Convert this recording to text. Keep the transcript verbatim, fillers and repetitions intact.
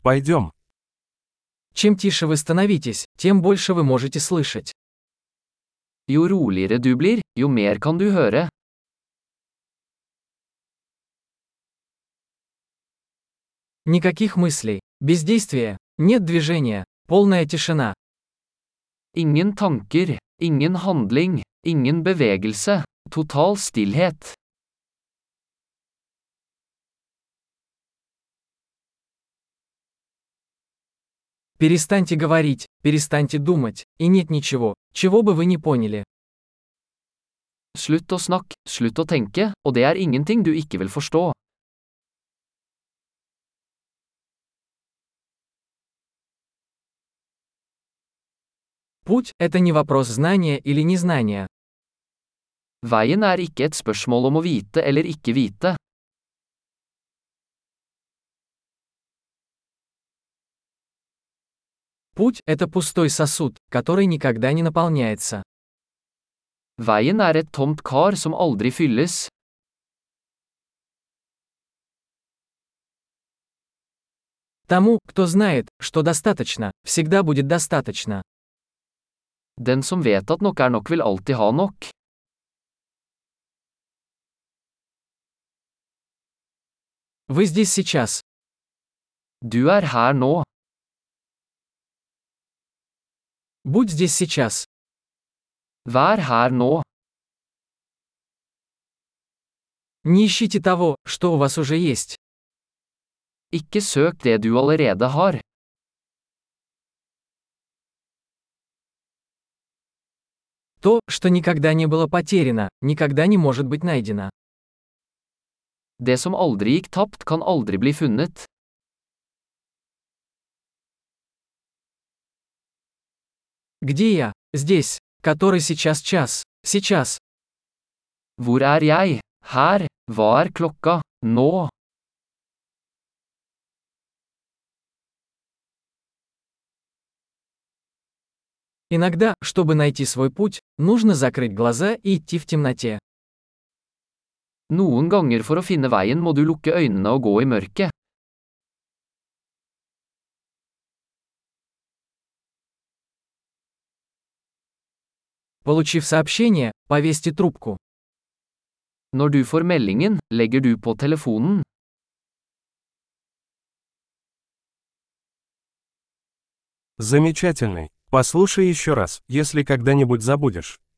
Пойдем. Чем тише вы становитесь, тем больше вы можете слышать. Jo roligere du blir, jo mer kan du høre. Никаких мыслей, бездействия, нет движения, полная тишина. Ingen tanker, ingen handling, ingen bevegelse, total stillhet. Перестаньте говорить, перестаньте думать, и нет ничего, чего бы вы не поняли. Slutt å snakke, slutt å tenke, og det er ingenting du ikke vil forstå. Путь – это не вопрос знания или незнания. Veien er ikke et spørsmål om å vite eller ikke vite. Путь – это пустой сосуд, который никогда не наполняется. Veien er et tomt kar som aldri fylles. Тому, кто знает, что достаточно, всегда будет достаточно. Den som vet at nok er nok vil alltid ha nok. Вы здесь сейчас. Du er her nå. Будь здесь сейчас. Vær her nå. Не ищите того, что у вас уже есть. Ikke søk det du allerede har. То, что никогда не было потеряно, никогда не может быть найдено. Det som aldri gikk tapt kan aldri bli funnet. Где я? Здесь. Который сейчас час. Сейчас. Hvor er jeg? Her. Hva er klokka? Nå. Иногда, чтобы найти свой путь, нужно закрыть глаза и идти в темноте. Noen ganger for å finne veien må du lukke øynene og gå i mørket. Получив сообщение, повесьте трубку. Når du får meldingen, legger du på telefonen. Замечательный. Послушай еще раз, если когда-нибудь забудешь.